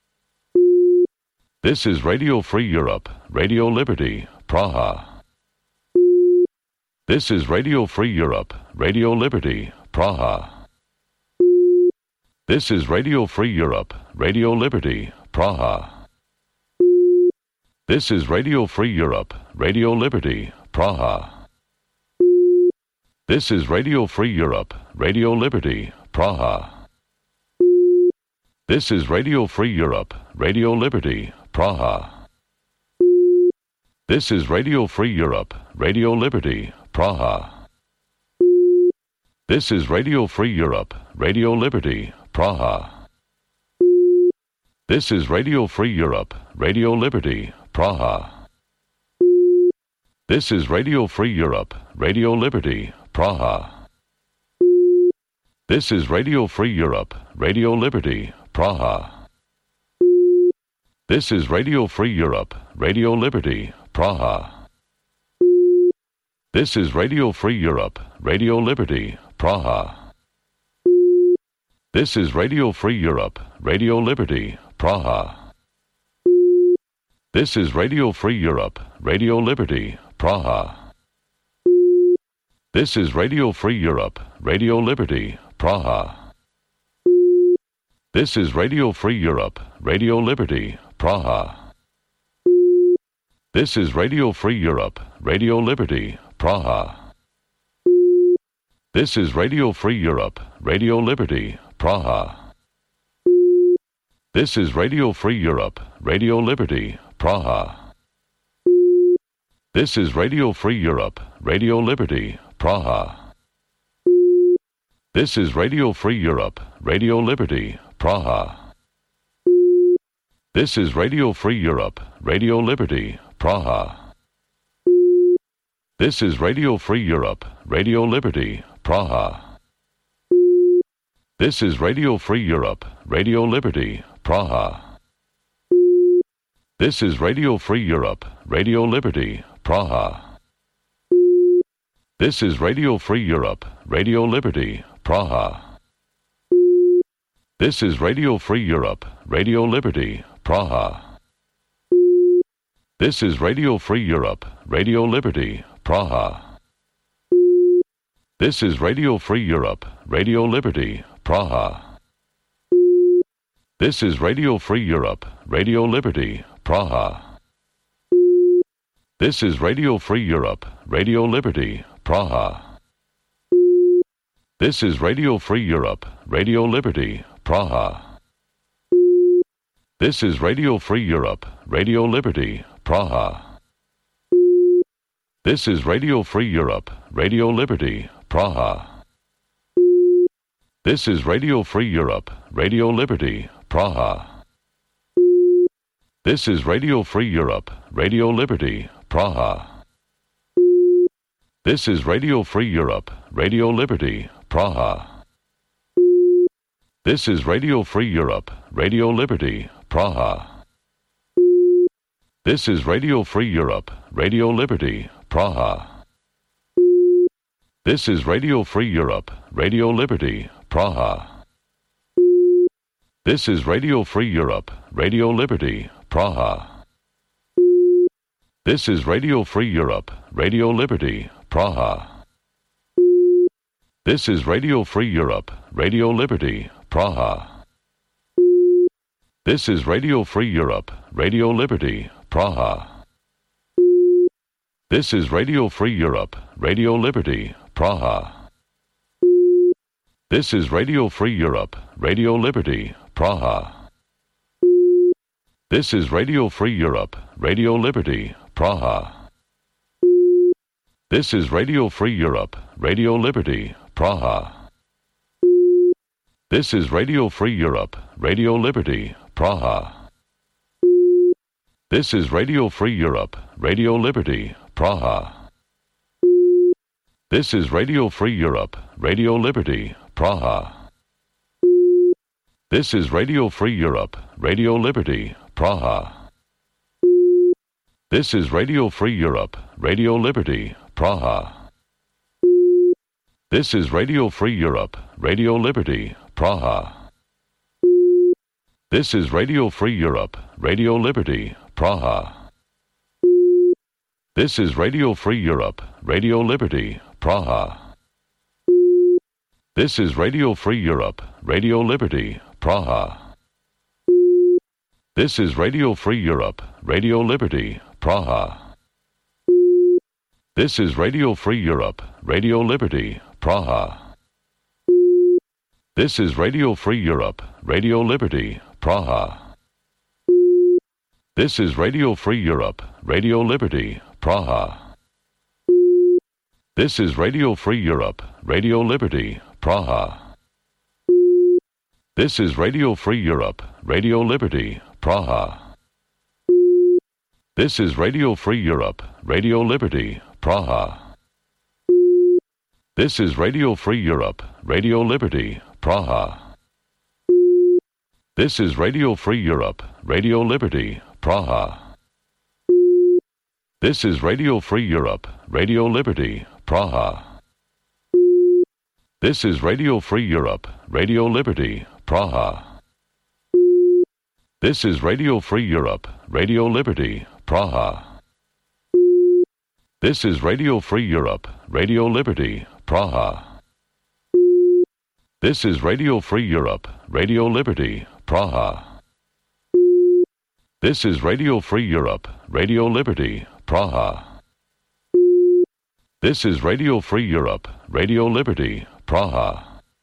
This is Radio Free Europe, Radio Liberty, Praha. This is Radio Free Europe, Radio Liberty, Praha. This is Radio Free Europe, Radio Liberty, Praha. This is Radio Free Europe, Radio Liberty, Praha. This is Radio Free Europe, Radio Liberty, Praha. This is Radio Free Europe, Radio Liberty, Praha. This is Radio Free Europe, Radio Liberty, Praha. This is Radio Free Europe, Radio Liberty, Praha. This is Radio Free Europe, Radio Liberty, Praha. This is Radio Free Europe, Radio Liberty, Praha. This is Radio Free Europe, Radio Liberty, Praha. This is Radio Free Europe, Radio Liberty, Praha. This is Radio Free Europe, Radio Liberty, Praha. This is Radio Free Europe, Radio Liberty, Praha. This is Radio Free Europe, Radio Liberty, Praha. This is Radio Free Europe, Radio Liberty, Praha. This is Radio Free Europe, Radio Liberty, Praha. This is Radio Free Europe, Radio Liberty, Praha. This is Radio Free Europe, Radio Liberty, Praha. This is Radio Free Europe, Radio Liberty, Praha. This is Radio Free Europe, Radio Liberty, Praha. This is Radio Free Europe, Radio Liberty, Praha. This is Radio Free Europe, Radio Liberty, Praha. This is Radio Free Europe, Radio Liberty, Praha. This is Radio Free Europe, Radio Liberty, Praha. This is Radio Free Europe, Radio Liberty, Praha. This is Radio Free Europe, Radio Liberty, Praha. This is Radio Free Europe, Radio Liberty, Praha. This is Radio Free Europe, Radio Liberty, Praha. This is Radio Free Europe, Radio Liberty, Praha. This is Radio Free Europe, Radio Liberty, Praha. This is Radio Free Europe, Radio Liberty, Praha. This is Radio Free Europe, Radio Liberty, Praha. This is Radio Free Europe, Radio Liberty, Praha. This is Radio Free Europe, Radio Liberty, Praha. This is Radio Free Europe, Radio Liberty, Praha. This is Radio Free Europe, Radio Liberty, Praha. This is Radio Free Europe, Radio Liberty, Praha. This is Radio Free Europe, Radio Liberty, Praha. This is Radio Free Europe, Radio Liberty, Praha. This is Radio Free Europe, Radio Liberty, Praha. This is Radio Free Europe, Radio Liberty, Praha. This is Radio Free Europe, Radio Liberty, Praha. This is Radio Free Europe, Radio Liberty, Praha. This is Radio Free Europe, Radio Liberty, Praha. This is Radio Free Europe, Radio Liberty, Praha. This is Radio Free Europe, Radio Liberty, Praha. This is Radio Free Europe, Radio Liberty, Praha. This is Radio Free Europe, Radio Liberty, Praha. This is Radio Free Europe, Radio Liberty, Praha. This is Radio Free Europe, Radio Liberty, Praha. This is Radio Free Europe, Radio Liberty, Praha. This is Radio Free Europe, Radio Liberty, Praha. This is Radio Free Europe, Radio Liberty, Praha. This is Radio Free Europe, Radio Liberty, Praha. This is Radio Free Europe, Radio Liberty, Praha. This is Radio Free Europe, Radio Liberty, Praha. This is Radio Free Europe, Radio Liberty, Praha. This is Radio Free Europe, Radio Liberty, Praha. This is Radio Free Europe, Radio Liberty, Praha. This is Radio Free Europe, Radio Liberty, Praha. This is Radio Free Europe, Radio Liberty, Praha. This is Radio Free Europe, Radio Liberty, Praha. This is Radio Free Europe, Radio Liberty, Praha. This is Radio Free Europe, Radio Liberty, Praha. This is Radio Free Europe, Radio Liberty, Praha. This is Radio Free Europe, Radio Liberty, Praha. This is Radio Free Europe, Radio Liberty, Praha. This is Radio Free Europe, Radio Liberty, Praha. This is Radio Free Europe, Radio Liberty, Praha. This is Radio Free Europe, Radio Liberty, Praha. This is Radio Free Europe, Radio Liberty, Praha. This is Radio Free Europe, Radio Liberty, Praha. This is Radio Free Europe, Radio Liberty, Praha.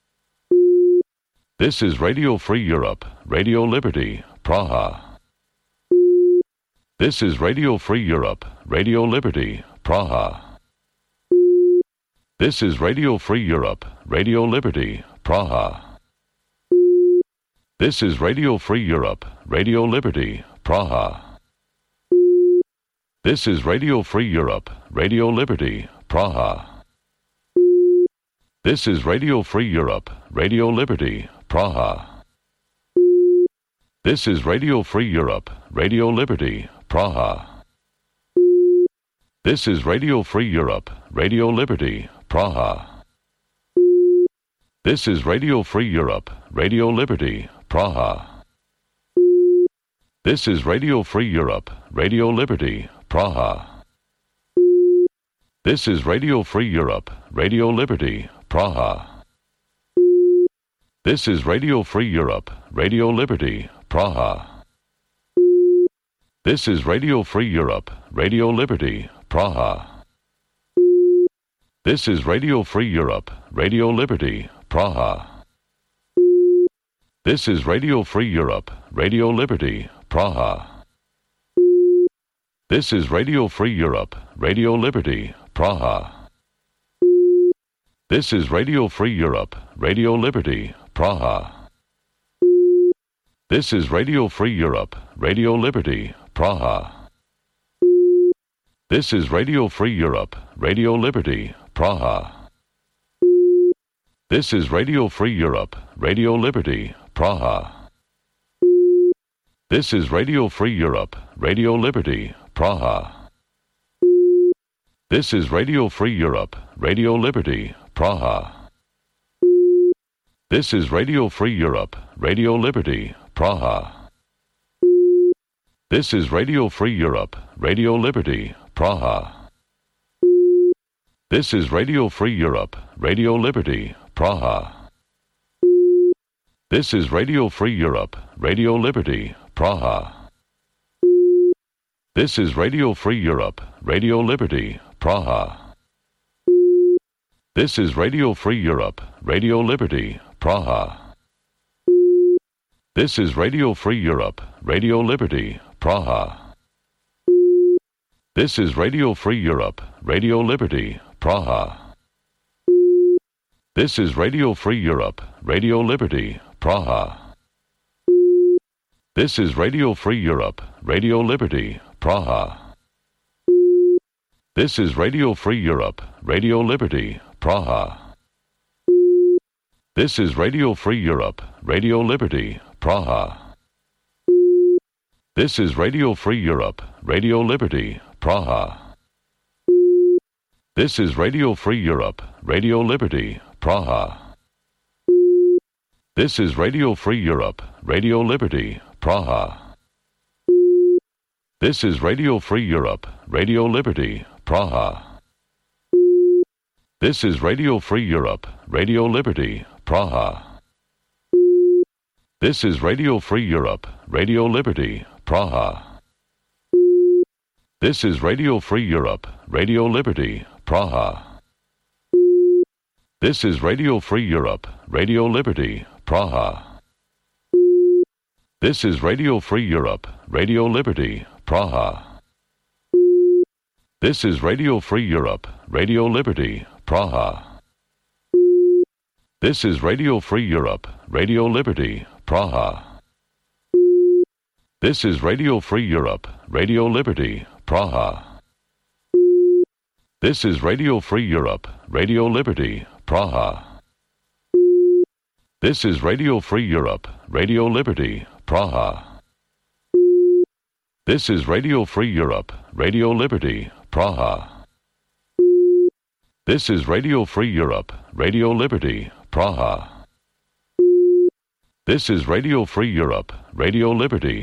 This is Radio Free Europe, Radio Liberty, Praha. This is Radio Free Europe, Radio Liberty, Praha. This is Radio Free Europe, Radio Liberty, Praha. This is Radio Free Europe, Radio Liberty, Praha. This is Radio Free Europe, Radio Liberty, Praha. This is Radio Free Europe, Radio Liberty, Praha. This is Radio Free Europe, Radio Liberty, Praha. This is Radio Free Europe, Radio Liberty, Praha. This is Radio Free Europe, Radio Liberty, Praha. This is Radio Free Europe, Radio Liberty, Praha. This is Radio Free Europe, Radio Liberty, Praha. This is Radio Free Europe, Radio Liberty, Praha. This is Radio Free Europe, Radio Liberty, Praha. This is Radio Free Europe, Radio Liberty, Praha. This is Radio Free Europe, Radio Liberty, Praha. This is Radio Free Europe, Radio Liberty, Praha. This is Radio Free Europe, Radio Liberty, Praha. This is Radio Free Europe, Radio Liberty, Praha. This is Radio Free Europe, Radio Liberty, Praha. This is Radio Free Europe, Radio Liberty, Praha. This is Radio Free Europe, Radio Liberty, Praha. This is Radio Free Europe, Radio Liberty, Praha. This is Radio Free Europe, Radio Liberty, Praha. This is Radio Free Europe, Radio Liberty, Praha. This is Radio Free Europe, Radio Liberty, Praha. This is Radio Free Europe, Radio Liberty, Praha. This is Radio Free Europe, Radio Liberty, Praha. This is Radio Free Europe, Radio Liberty, Praha. This is Radio Free Europe, Radio Liberty, Praha. This is Radio Free Europe, Radio Liberty, Praha. This is Radio Free Europe, Radio Liberty, Praha. This is Radio Free Europe, Radio Liberty, Praha. This is Radio Free Europe, Radio Liberty, Praha. This is Radio Free Europe, Radio Liberty, Praha. This is Radio Free Europe, Radio Liberty, Praha. This is Radio Free Europe, Radio Liberty, Praha. This is Radio Free Europe, Radio Liberty, Praha. This is Radio Free Europe, Radio Liberty, Praha. This is Radio Free Europe, Radio Liberty, Praha. This is Radio Free Europe, Radio Liberty, Praha. This is Radio Free Europe, Radio Liberty, Praha. This is Radio Free Europe, Radio Liberty, Praha. This is Radio Free Europe, Radio Liberty, Praha. This is Radio Free Europe, Radio Liberty, Praha. This is Radio Free Europe, Radio Liberty, Praha. This is Radio Free Europe, Radio Liberty, Praha. This is Radio Free Europe, Radio Liberty, Praha. This is Radio Free Europe, Radio Liberty, Praha. This is Radio Free Europe, Radio Liberty, Praha. This is Radio Free Europe, Radio Liberty, Praha. This is Radio Free Europe, Radio Liberty,